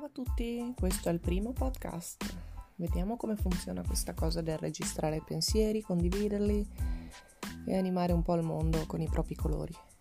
Ciao a tutti, questo è il primo podcast. Vediamo come funziona questa cosa del registrare pensieri, condividerli e animare un po' il mondo con i propri colori.